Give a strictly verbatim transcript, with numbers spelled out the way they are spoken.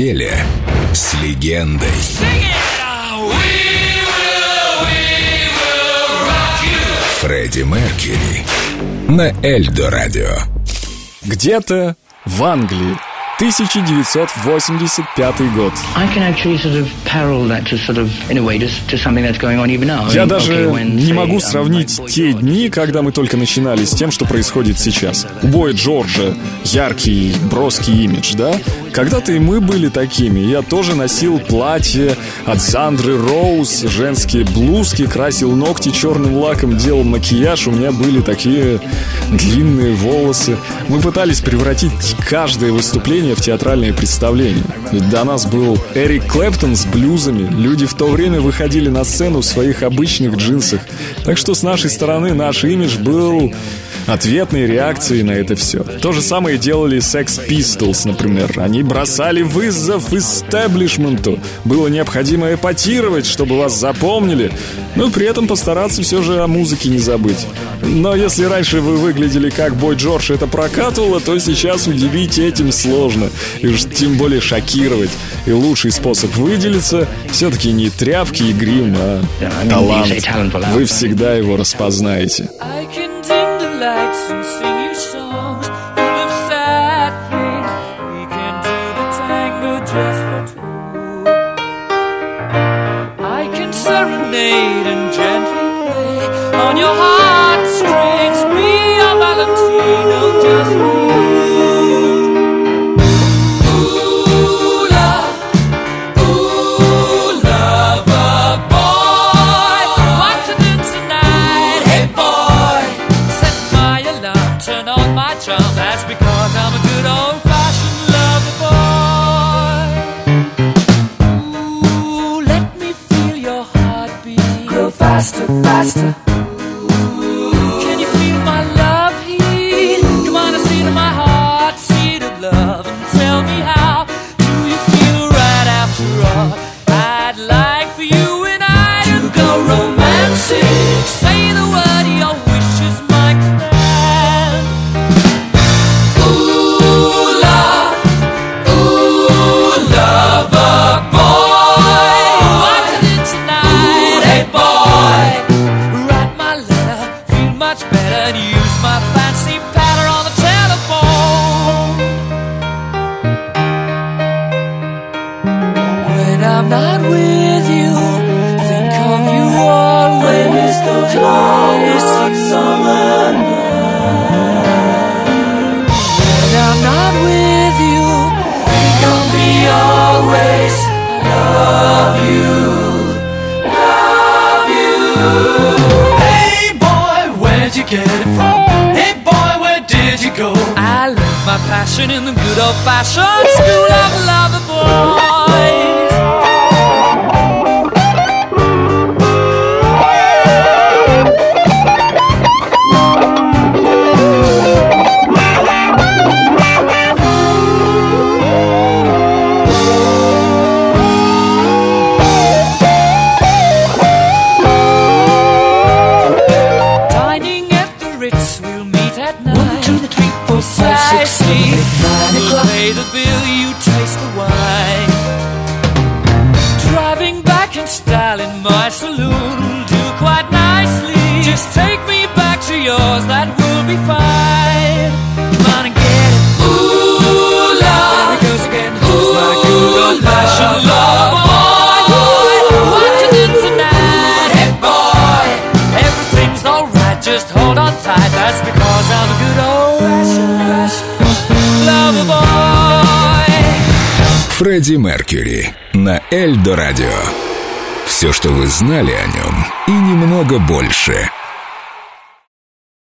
неделе с легендой. Фредди Меркьюри на Эльдо Радио. Где-то в Англии, тысяча девятьсот восемьдесят пятый год. Я даже не могу сравнить те дни, когда мы только начинали, с тем, что происходит сейчас. У Бой Джорджа яркий, броский имидж, да? Когда-то и мы были такими. Я тоже носил платье от Сандры Роуз, женские блузки, красил ногти черным лаком, делал макияж. У меня были такие длинные волосы. Мы пытались превратить каждое выступление в театральное представление. Ведь до нас был Эрик Клэптон с блюзами. Люди в то время выходили на сцену в своих обычных джинсах. Так что с нашей стороны наш имидж был ответной реакцией на это все. То же самое делали Sex Pistols, например. Они бросали вызов истеблишменту. Было необходимо эпатировать, чтобы вас запомнили, но при этом постараться все же о музыке не забыть. Но если раньше вы выглядели как Бой Джордж, это прокатывало, то сейчас удивить этим сложно. И уж тем более шокировать. И лучший способ выделиться все-таки не тряпки и грим, а талант. Вы всегда его распознаете. Lights and sing you songs full of sad things. We can do the tango just for two. I can serenade and gently play on your heartstrings. Be a Valentino just for you. Ooh, love, ooh, lover boy, what to do tonight? Hey boy, turn on my charm, that's because I'm a good old-fashioned lover boy. Ooh, let me feel your heartbeat grow faster, faster. Ooh, can you feel my love heat? Come on and see to my heart, seed of love, and tell me how do you feel right after all? I'd like for you and I to go romantic. Say the word, your wish is my command. I'm not with you, think of you always, those longest hot summer nights. When I'm not with you, think of me always, love you, love you. Hey boy, where'd you get it from? Hey boy, where did you go? I learned my passion in the good old-fashioned school of lover boys. We'll pay the bill, you taste the wine. Driving back in style in my saloon will do quite nicely. Just take me back to yours, that will be fine. Come on and get it. Ooh, love. There it goes again. Ooh, my good old-fashioned love boy. What you do tonight? Hey boy, everything's alright, just hold on tight. That's because I'm a good old-fashioned lover boy. Фредди Меркьюри на Эльдо Радио. Все, что вы знали о нем, и немного больше.